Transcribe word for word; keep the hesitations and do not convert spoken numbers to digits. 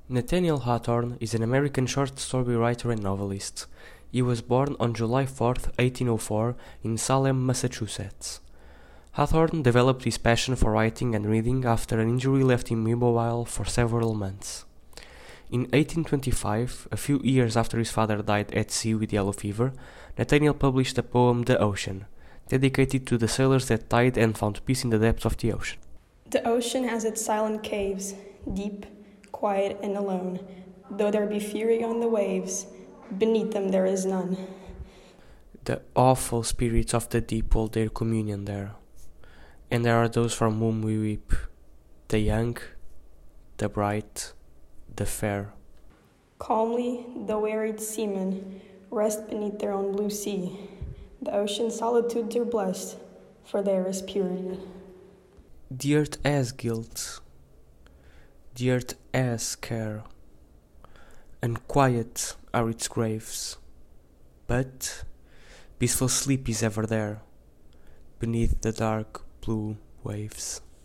Nathaniel Hawthorne is an American short story writer and novelist. He was born on July fourth, eighteen oh four, in Salem, Massachusetts. Hawthorne developed his passion for writing and reading after an injury left him immobile for several months. In eighteen twenty-five, a few years after his father died at sea with yellow fever, Nathaniel published the poem The Ocean, dedicated to the sailors that died and found peace in the depths of the ocean. The ocean has its silent caves, deep, quiet, and alone. Though there be fury on the waves, beneath them there is none. The awful spirits of the deep hold their communion there, and there are those from whom we weep, the young, the bright, the fair. Calmly, the wearied seamen rest beneath their own blue sea. The ocean's solitudes are blessed, for there is purity. The earth has guilt, the earth has care, and quiet are its graves, but peaceful sleep is ever there, beneath the dark blue waves.